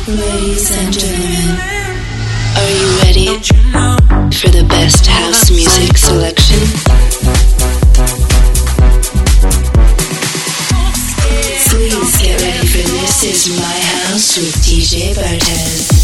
Ladies and gentlemen, are you ready for the best house music selection? Please get ready for This Is My House with DJ Bartez.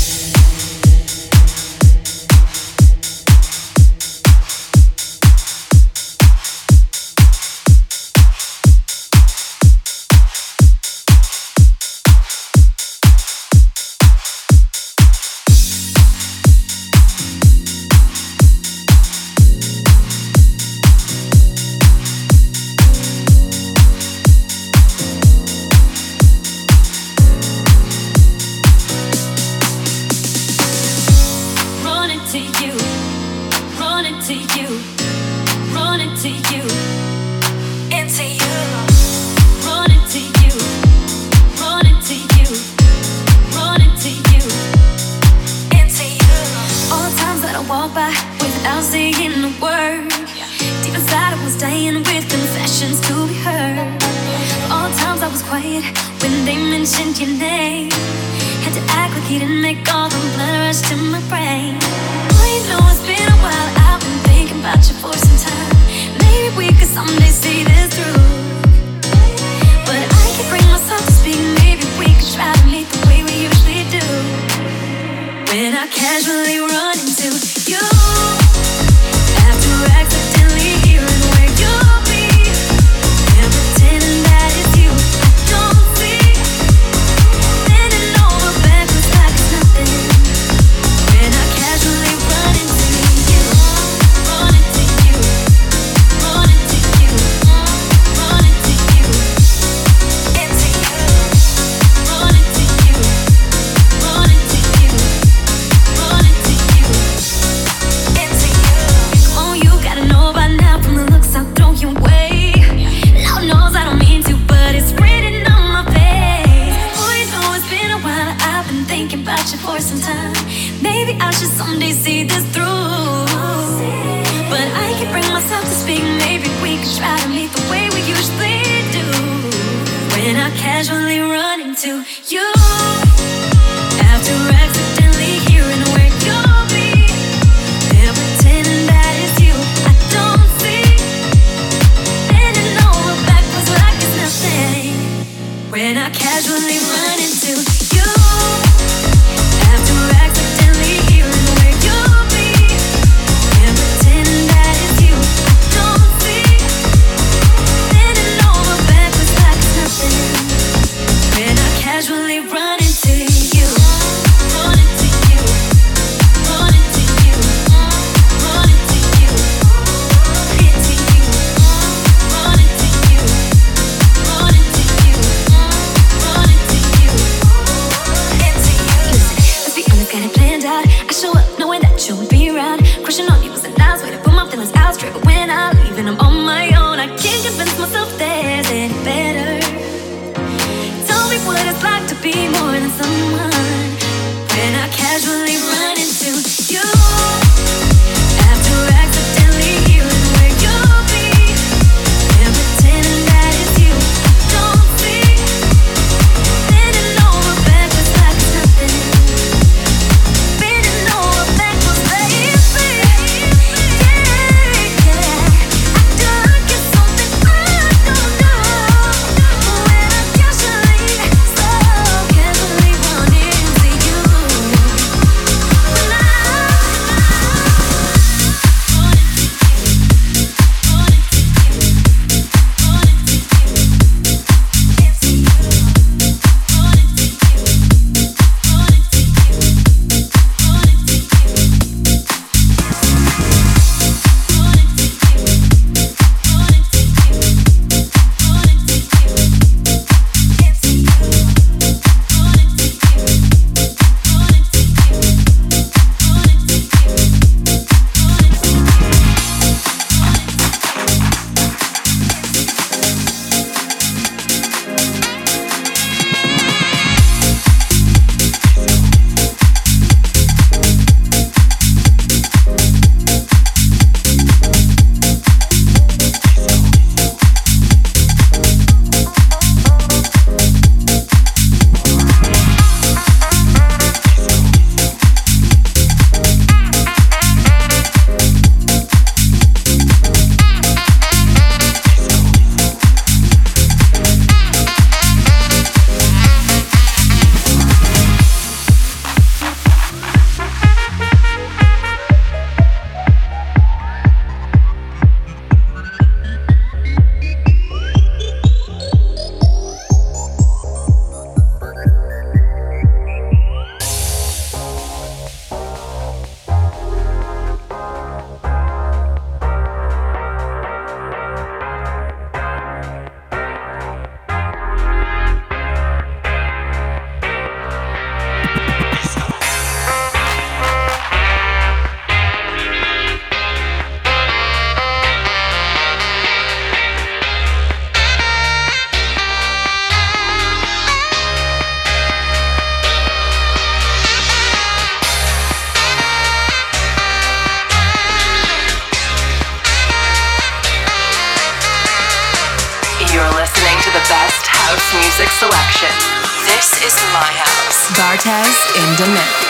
Casually run into you. my house. Bartez in the mix.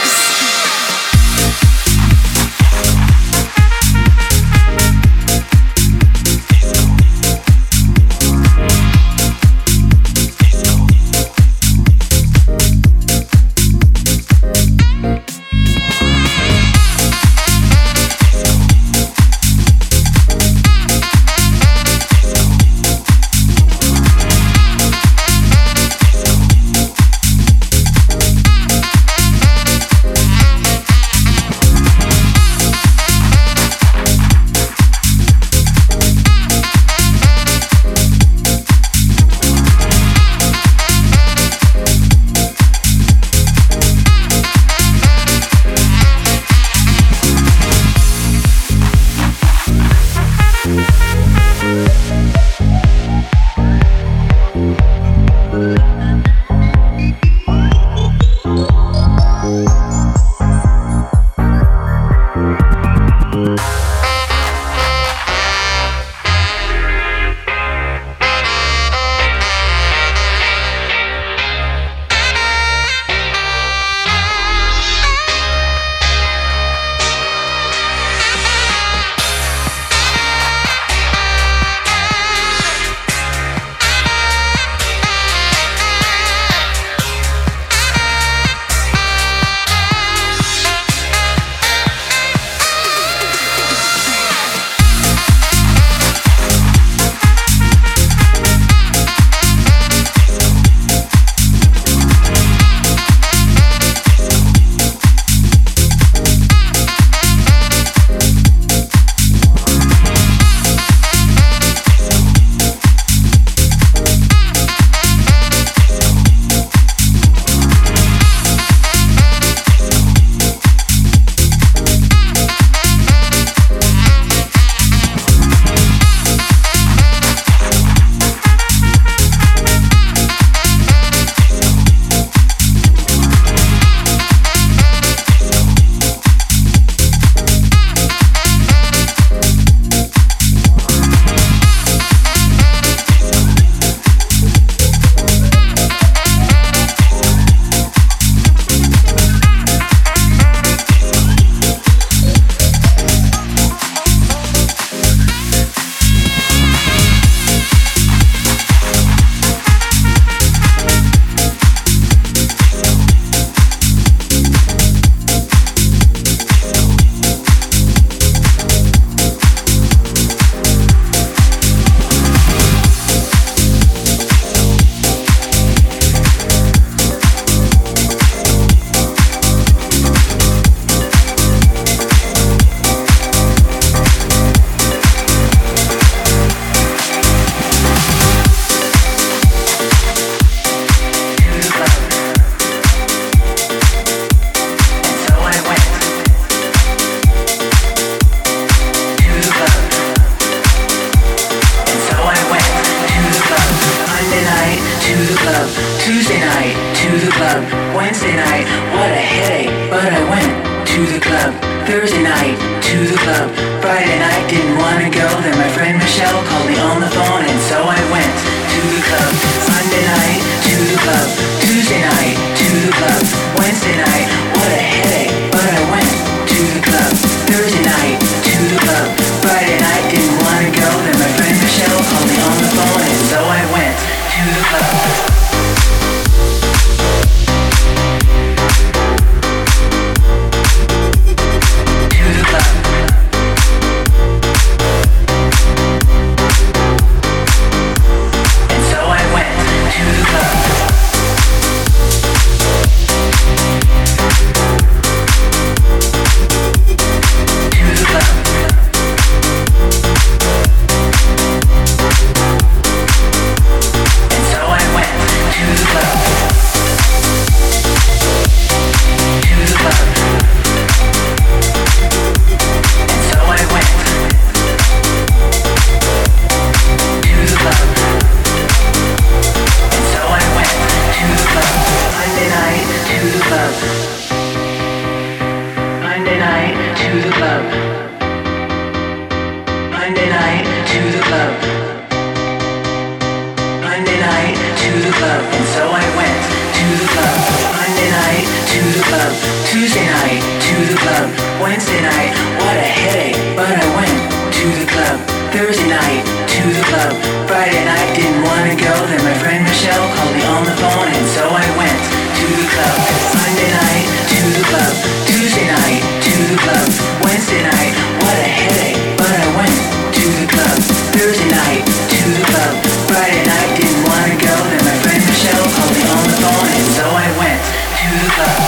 Tuesday night to the club. Wednesday night, what a headache, but I went to the club. Thursday night to the club. Friday night didn't wanna go, then my friend Michelle called me on the phone, and so I went to the club. Monday night to the club. Tuesday night to the club. Wednesday night, what a headache, but I went to the club. Thursday night to the club. Friday night didn't wanna go, then my friend Michelle called me on the phone, and so I went to the club.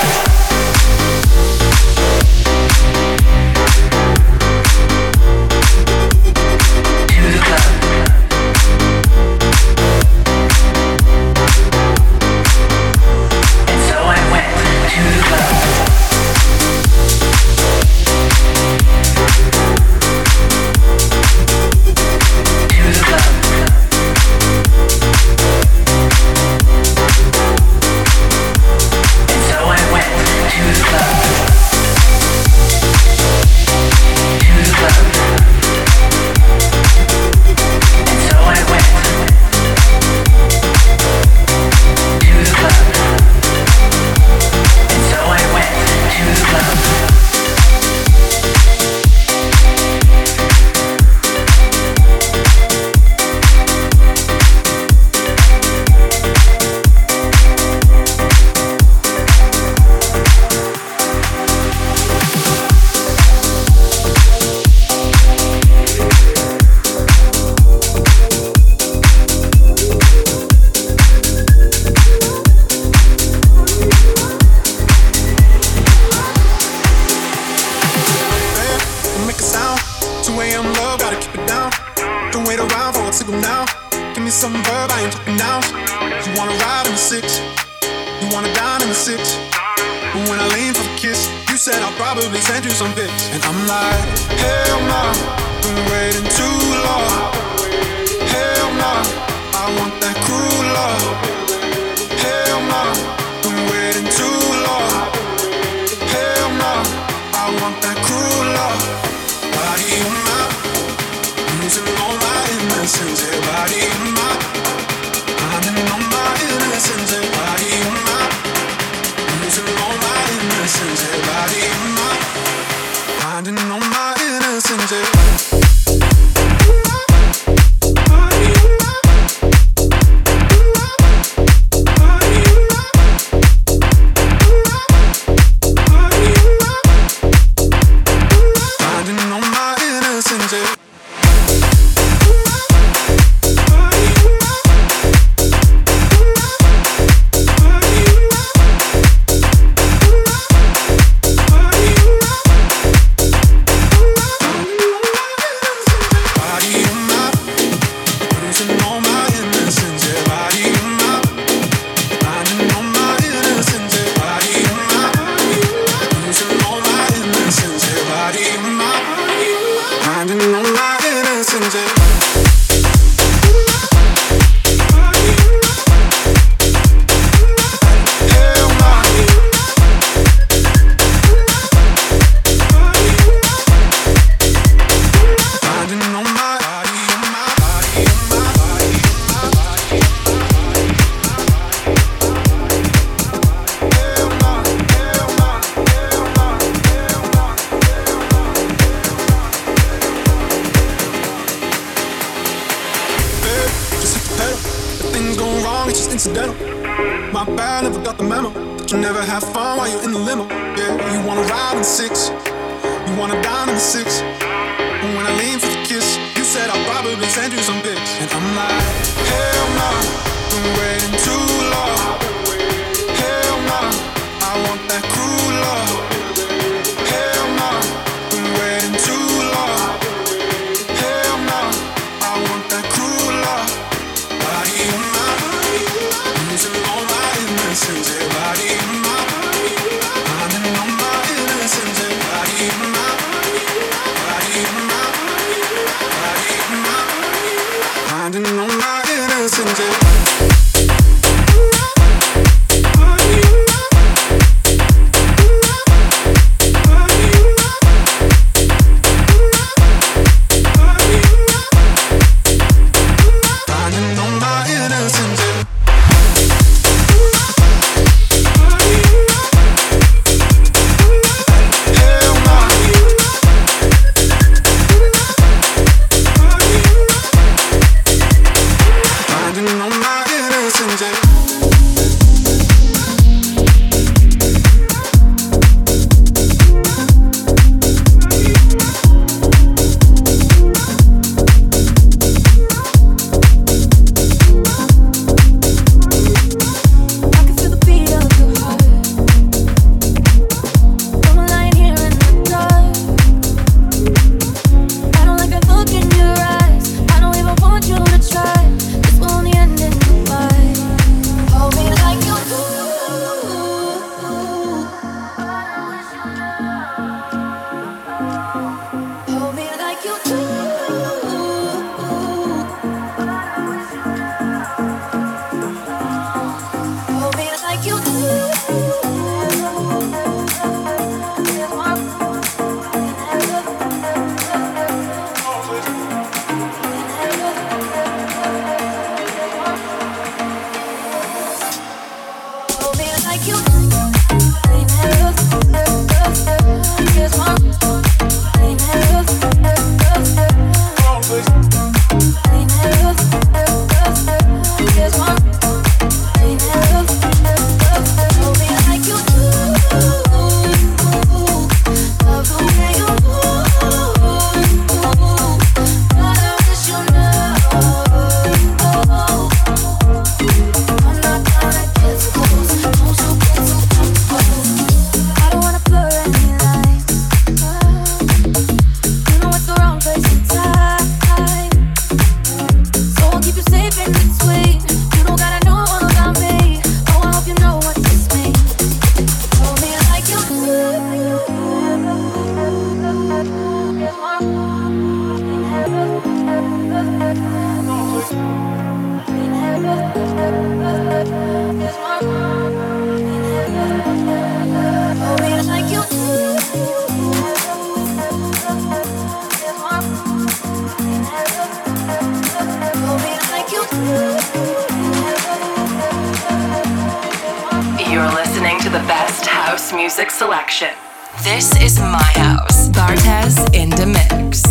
house music selection. This is my house. Bartez in the mix.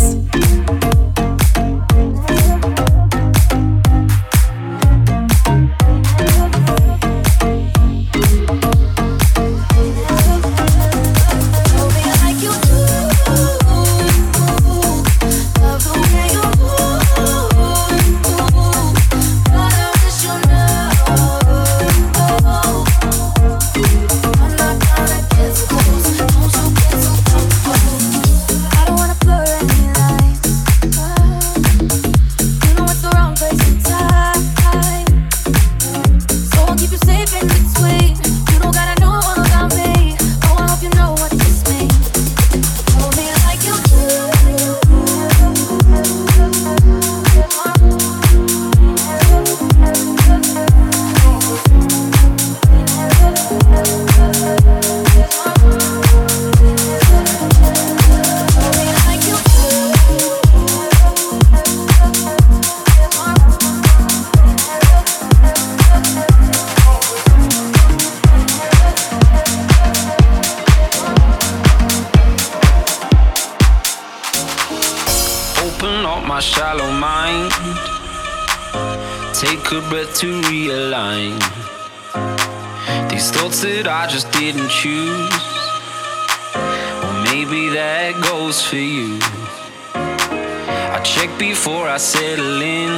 To realign these thoughts that I just didn't choose. Or maybe that goes for you. I check before I settle in.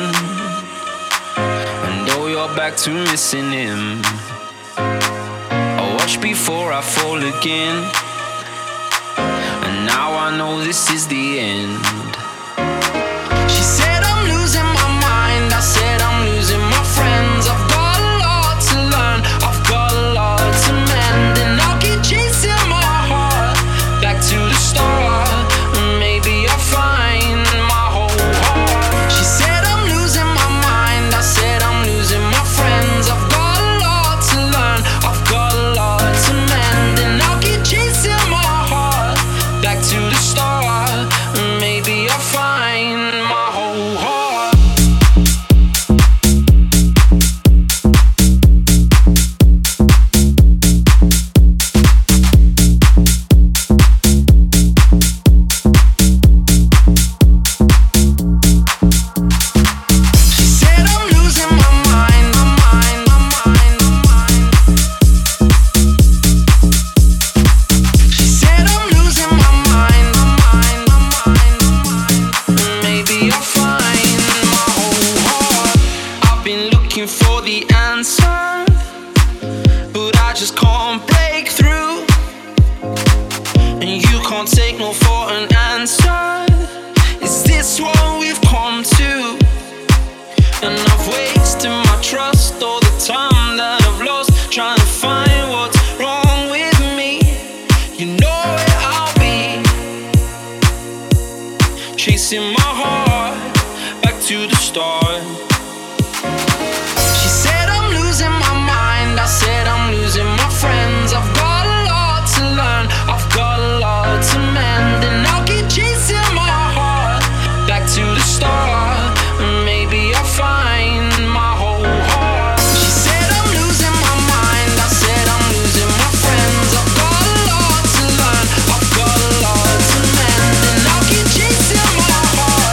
I know you're back to missing him. I watch before I fall again. And now I know this is the end. She said I'm losing my mind. I said I'm losing my friends. I've got a lot to learn. I've got a lot to mend. And I'll keep chasing my heart back to the start. Maybe I'll find my whole heart. She said I'm losing my mind. I said I'm losing my friends. I've got a lot to learn. I've got a lot to mend. And I'll keep chasing my heart back to the start. Maybe I'll find my whole heart. Chasing my heart back to the start. She said I'm losing my mind. I said I'm losing my friends. I've got a lot to learn. I've got a lot to mend. And I'll keep chasing my heart back to the start. Maybe I'll find my whole heart. She said I'm losing my mind. I said I'm losing my friends. I've got a lot to learn. I've got a lot to mend. And I'll keep chasing my heart.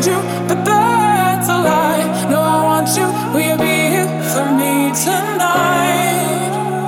you, but that's a lie. No, I want you. Will you be here for me tonight?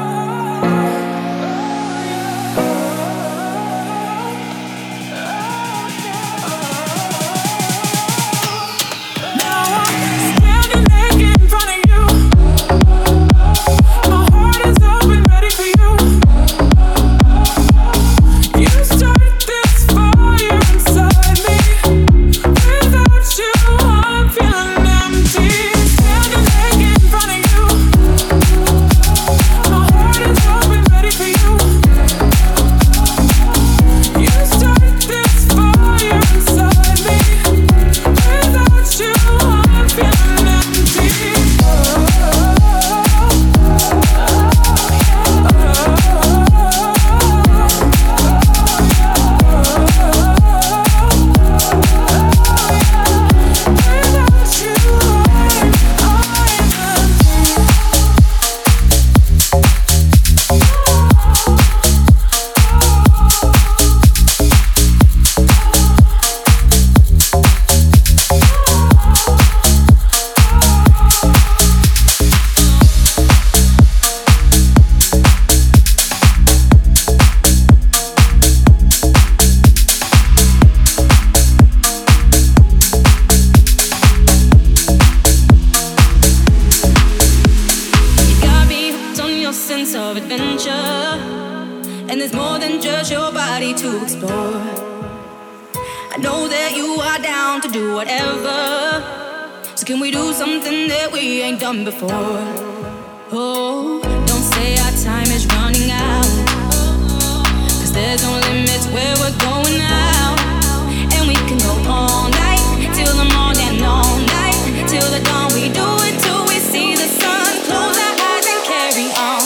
Before. Oh, don't say our time is running out, 'cause there's no limits where we're going now. And we can go all night, till the morning, all night, till the dawn. We do it till we see the sun. Close our eyes and carry on.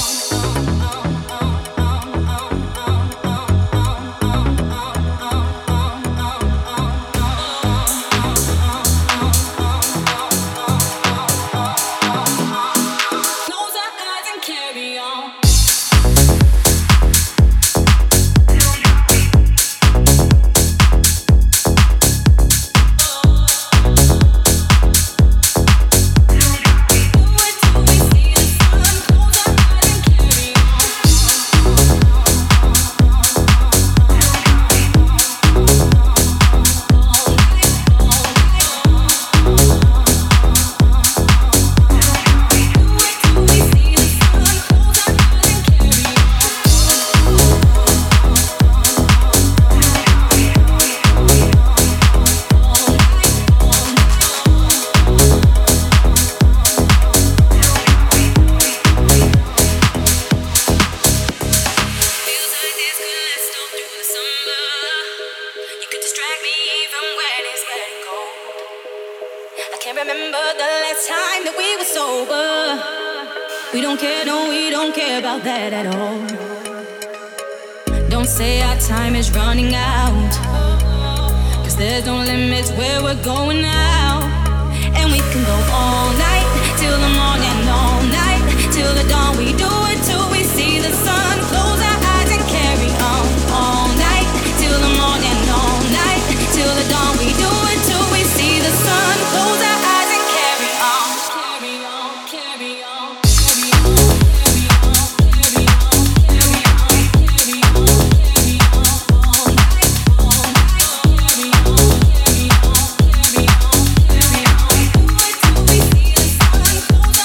That at all. Don't say our time is running out, 'cause there's no limits where we're going now. And we can go all night, till the morning, all night, till the dawn. We do it till we see the sun. Close our eyes and carry on. All night, till the morning, all night, till the dawn. We do it till we see the sun. Close our eyes and carry on. Carry on, carry on. Close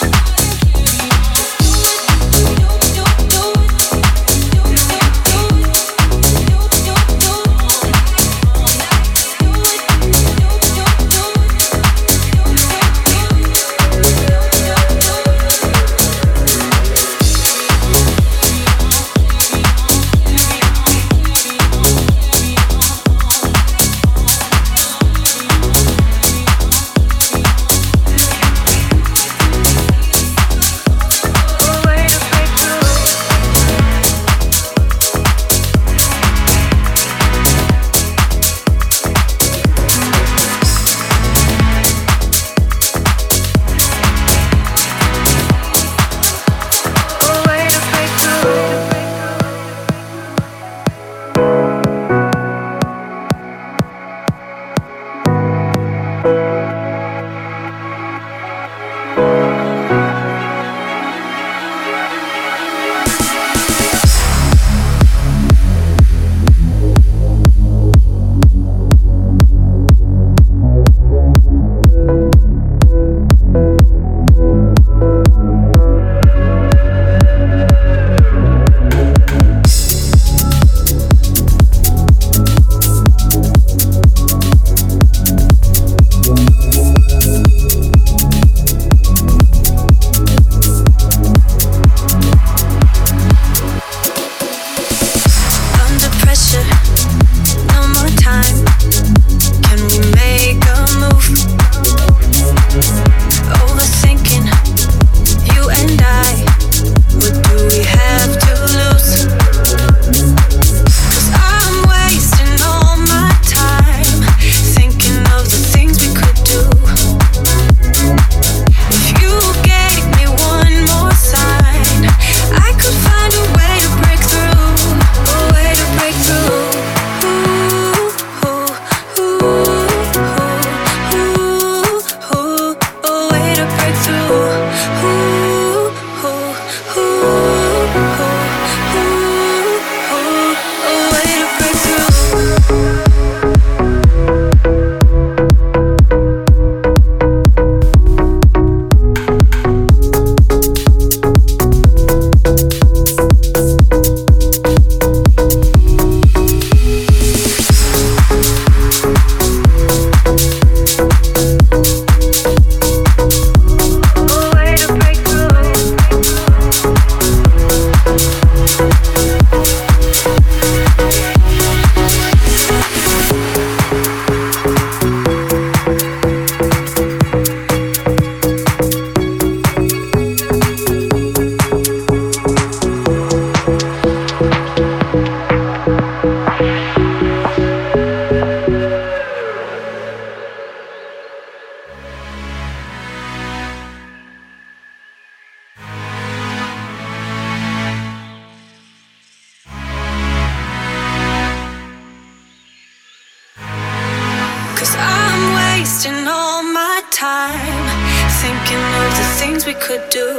wasting all my time thinking of the things we could do.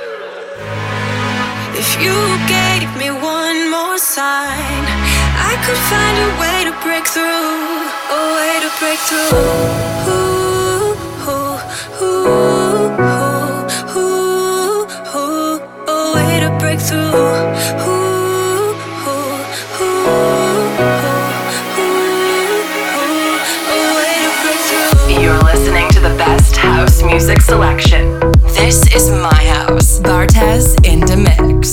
If you gave me one more sign, I could find a way to break through, a way to break through. Ooh, ooh, ooh, ooh, ooh, ooh, a way to break through. Ooh, ooh, ooh, ooh, ooh, a way to break through. You're listening to the best house music selection. This is My House. Bartez in the mix.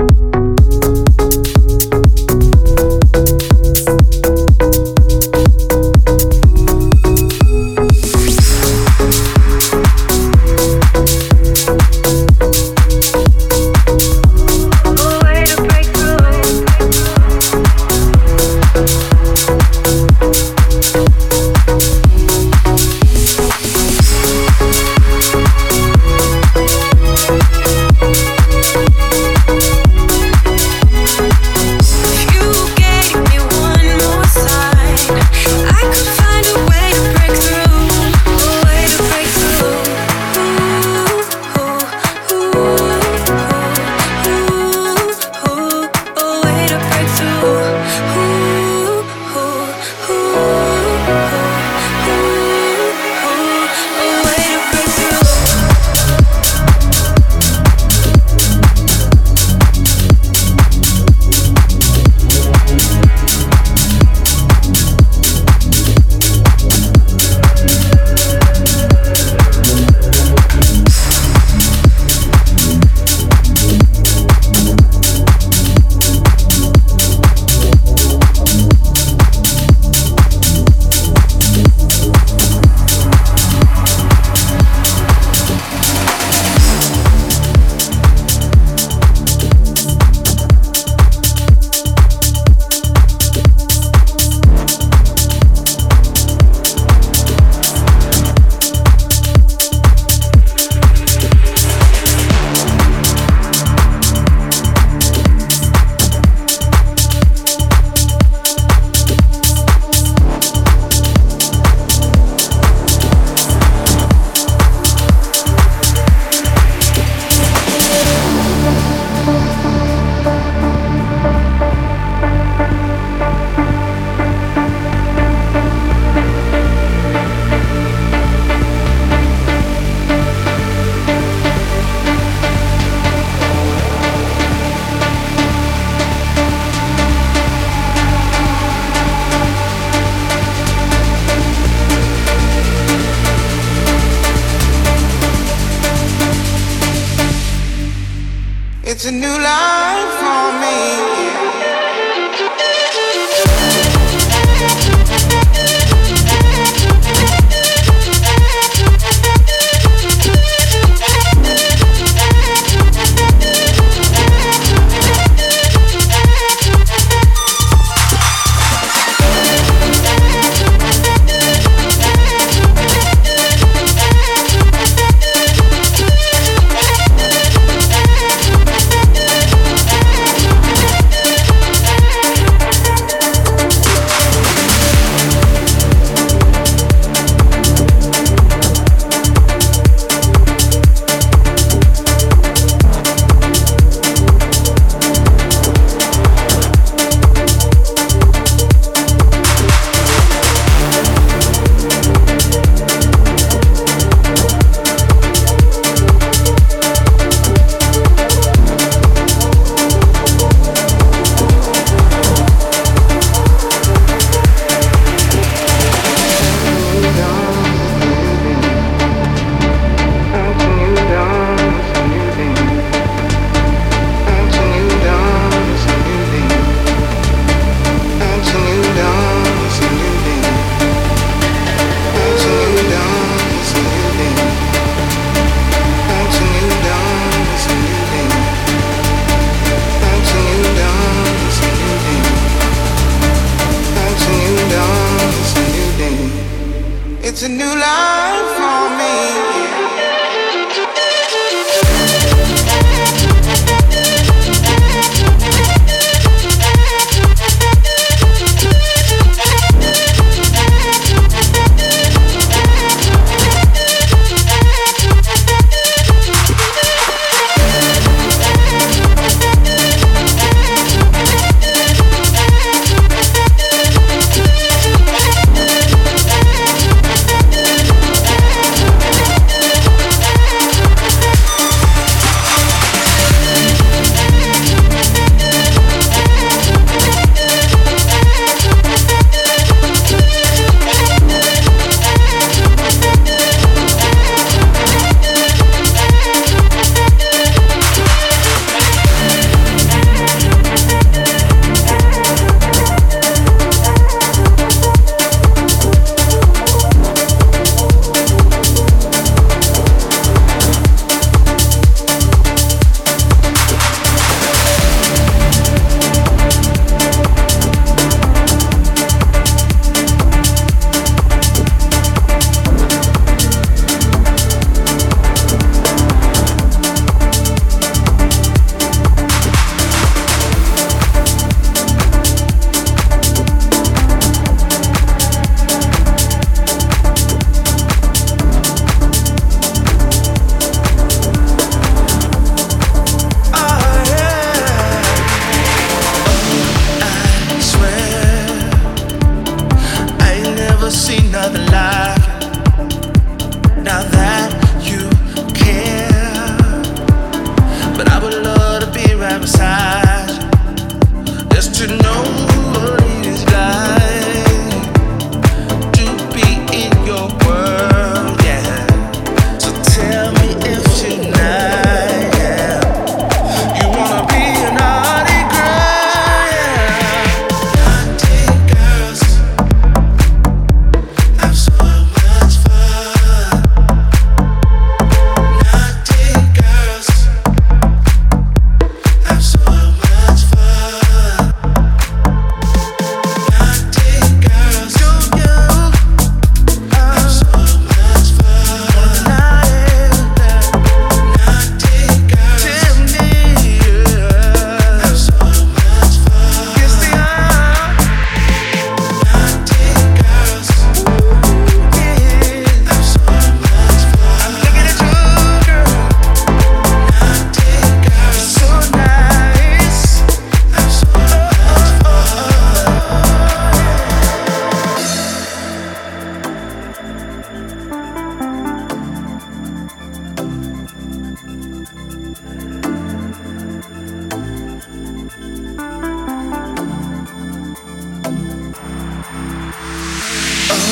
It's a new life for me. It's a new life for me.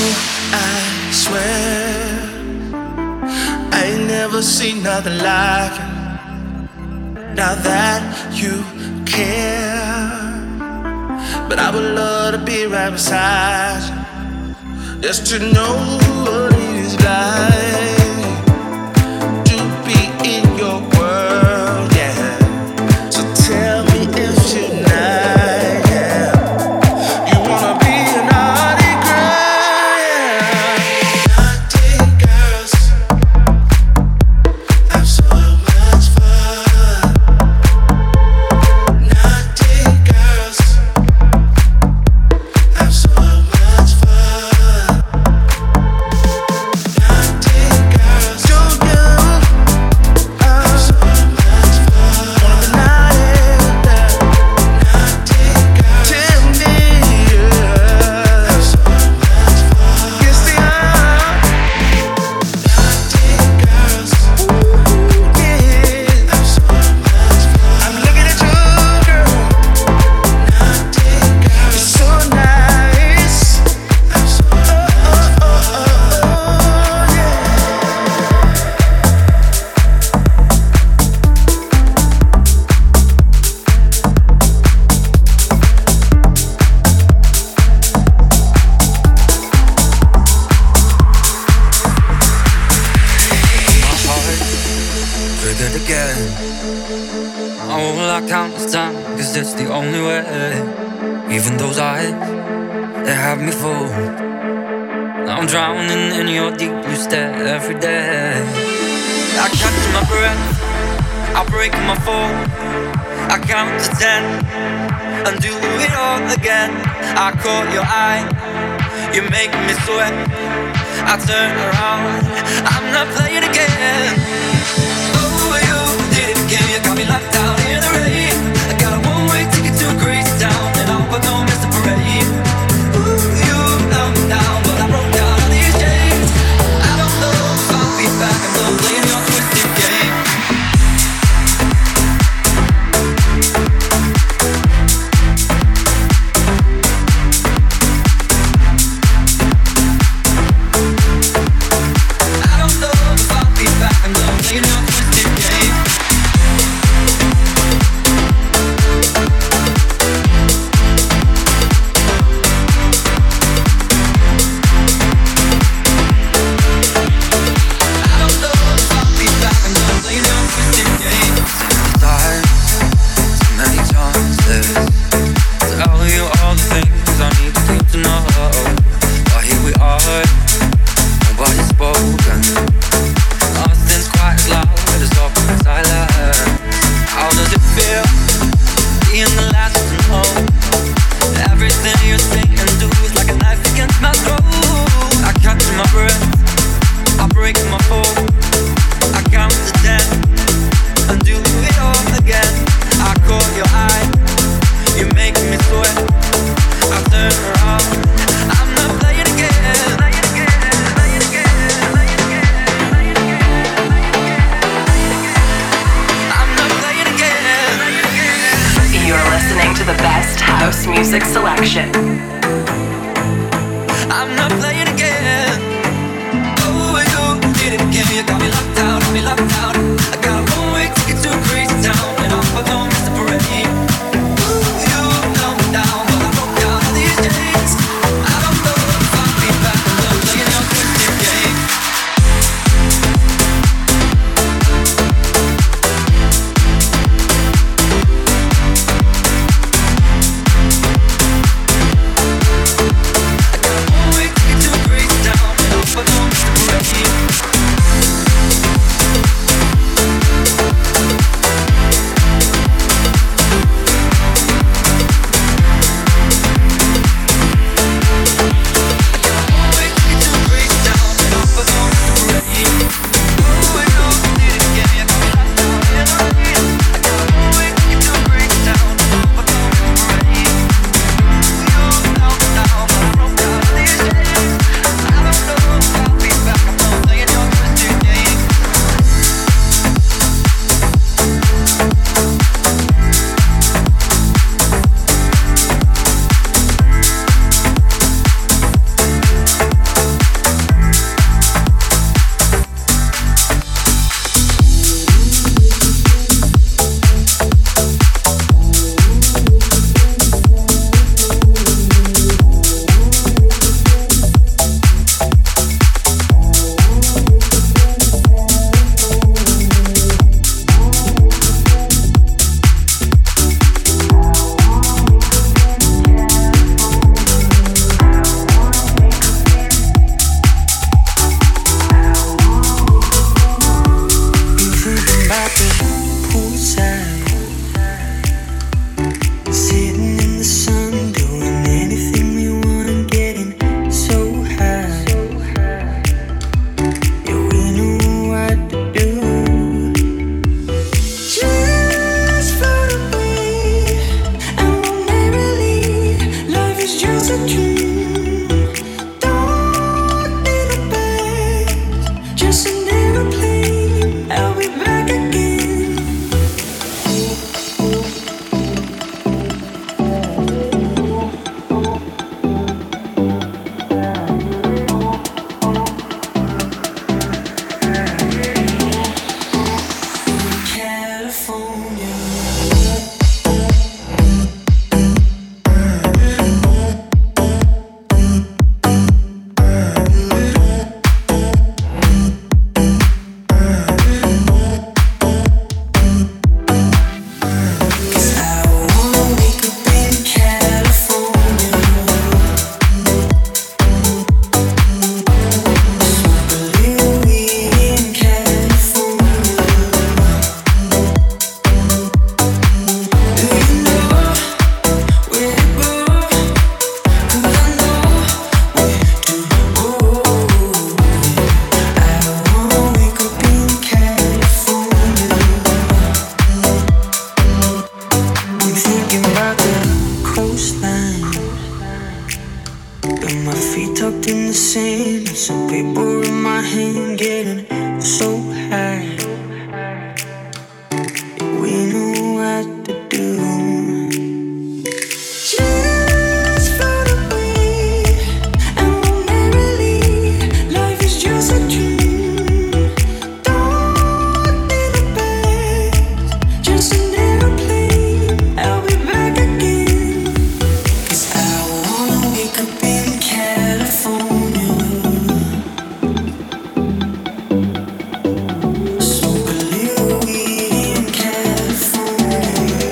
I swear I ain't never seen nothing like it. Now that you care, but I would love to be right beside you, just to know what it is like to be in your world, yeah. So tell me if tonight, yeah, you wanna be a naughty girl, yeah. Naughty girls have so much fun. Naughty girls have so much fun. Naughty girls, do you have so much fun? Wanna be naughty, naughty girls, tell me, yeah, have so much fun. Yes, they are. Naughty girls, ooh, yeah, have so much fun. I'm looking at you, girl. Naughty girls, you're so nice. Have so much fun, yeah. My heart triggered again. Oh, well, I count this time, cause it's the only way. Even those eyes, they have me fooled. I'm drowning in your deep blue stare every day. I catch my breath, I break my fall. I count to 10 and do it all again. I caught your eye, you make me sweat. I turn around, I'm not playing again. Oh, you did it again, you got me locked out in the rain. I got a one-way ticket to a crazy town, and I hope I don't miss the parade. Ooh, you held me down, but I broke down all these chains. I don't know if I'll be back, I'm not playing your twisted game. I don't know if I'll be back, I'm not playing your twisted game. I don't know if I'll be back, I'm not playing your twisted game. Too many chances to tell you all the things I need you to know. But here we are, nobody's spoken. Nothing's quite as loud as awkward silence. How does it feel being the last to know? Everything you say and do is like a knife against my throat. I catch my breath, I break my fall. I count to 10 and do it all again. I caught your eye, you make me sweat. I turn around, I'm not playing again. I'm not playing again. You're listening to the best house music selection. I'm not playing again. Oh, you did it again. You got me locked out, got me locked out. I got a one-way ticket to a crazy town, and I hope I don't miss the parade. Ooh, you held me down, but I broke down all these chains. I don't know if I'll be back, I'm not playing your twisted game. sand, some paper in my hand, getting so high. We know what to do. Just float away and go merrily. Life is just a dream. Don't need a bag, just an airplane. I'll be back again. 'Cause I wanna wake up in California. Smoke a little weed in California.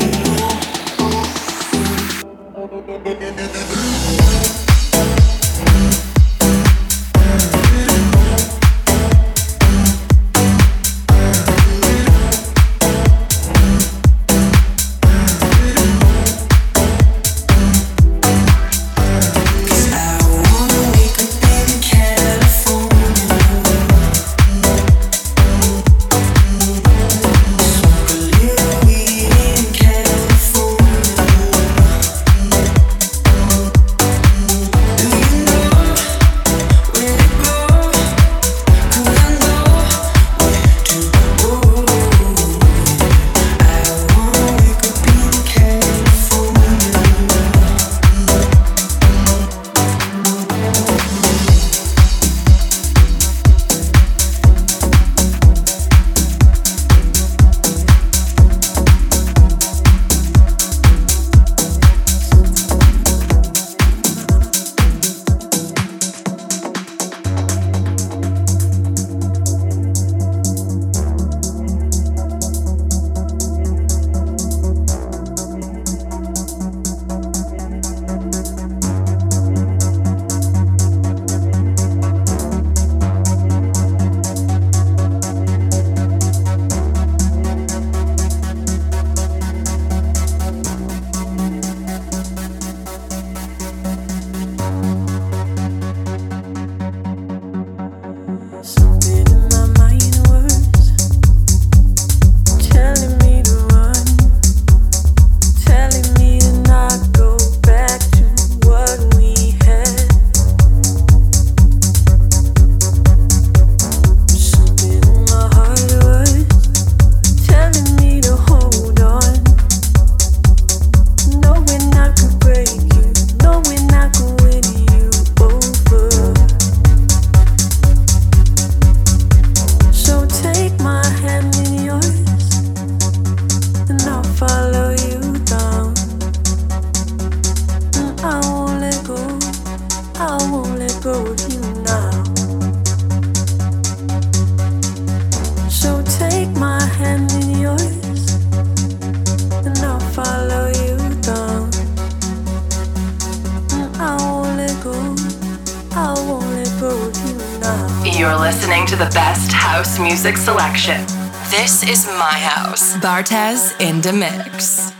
You're listening to the best house music selection. This is my house. Bartez in the mix.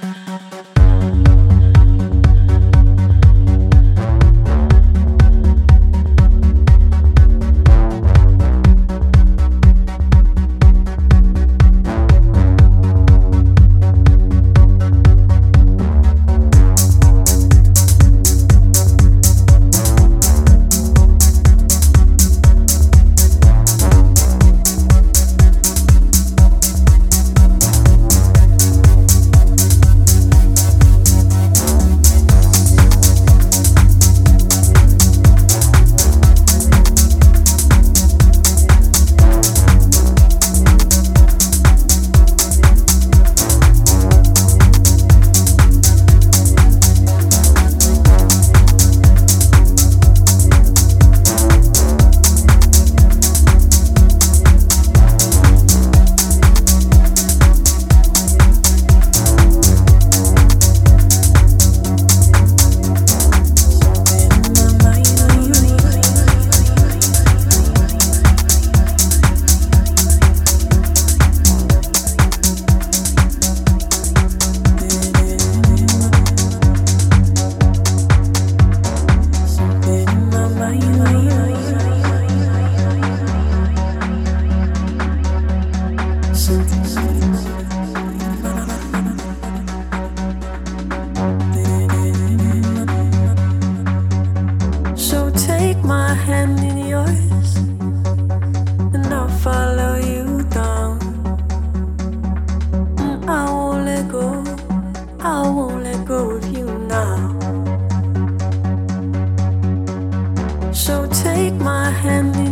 and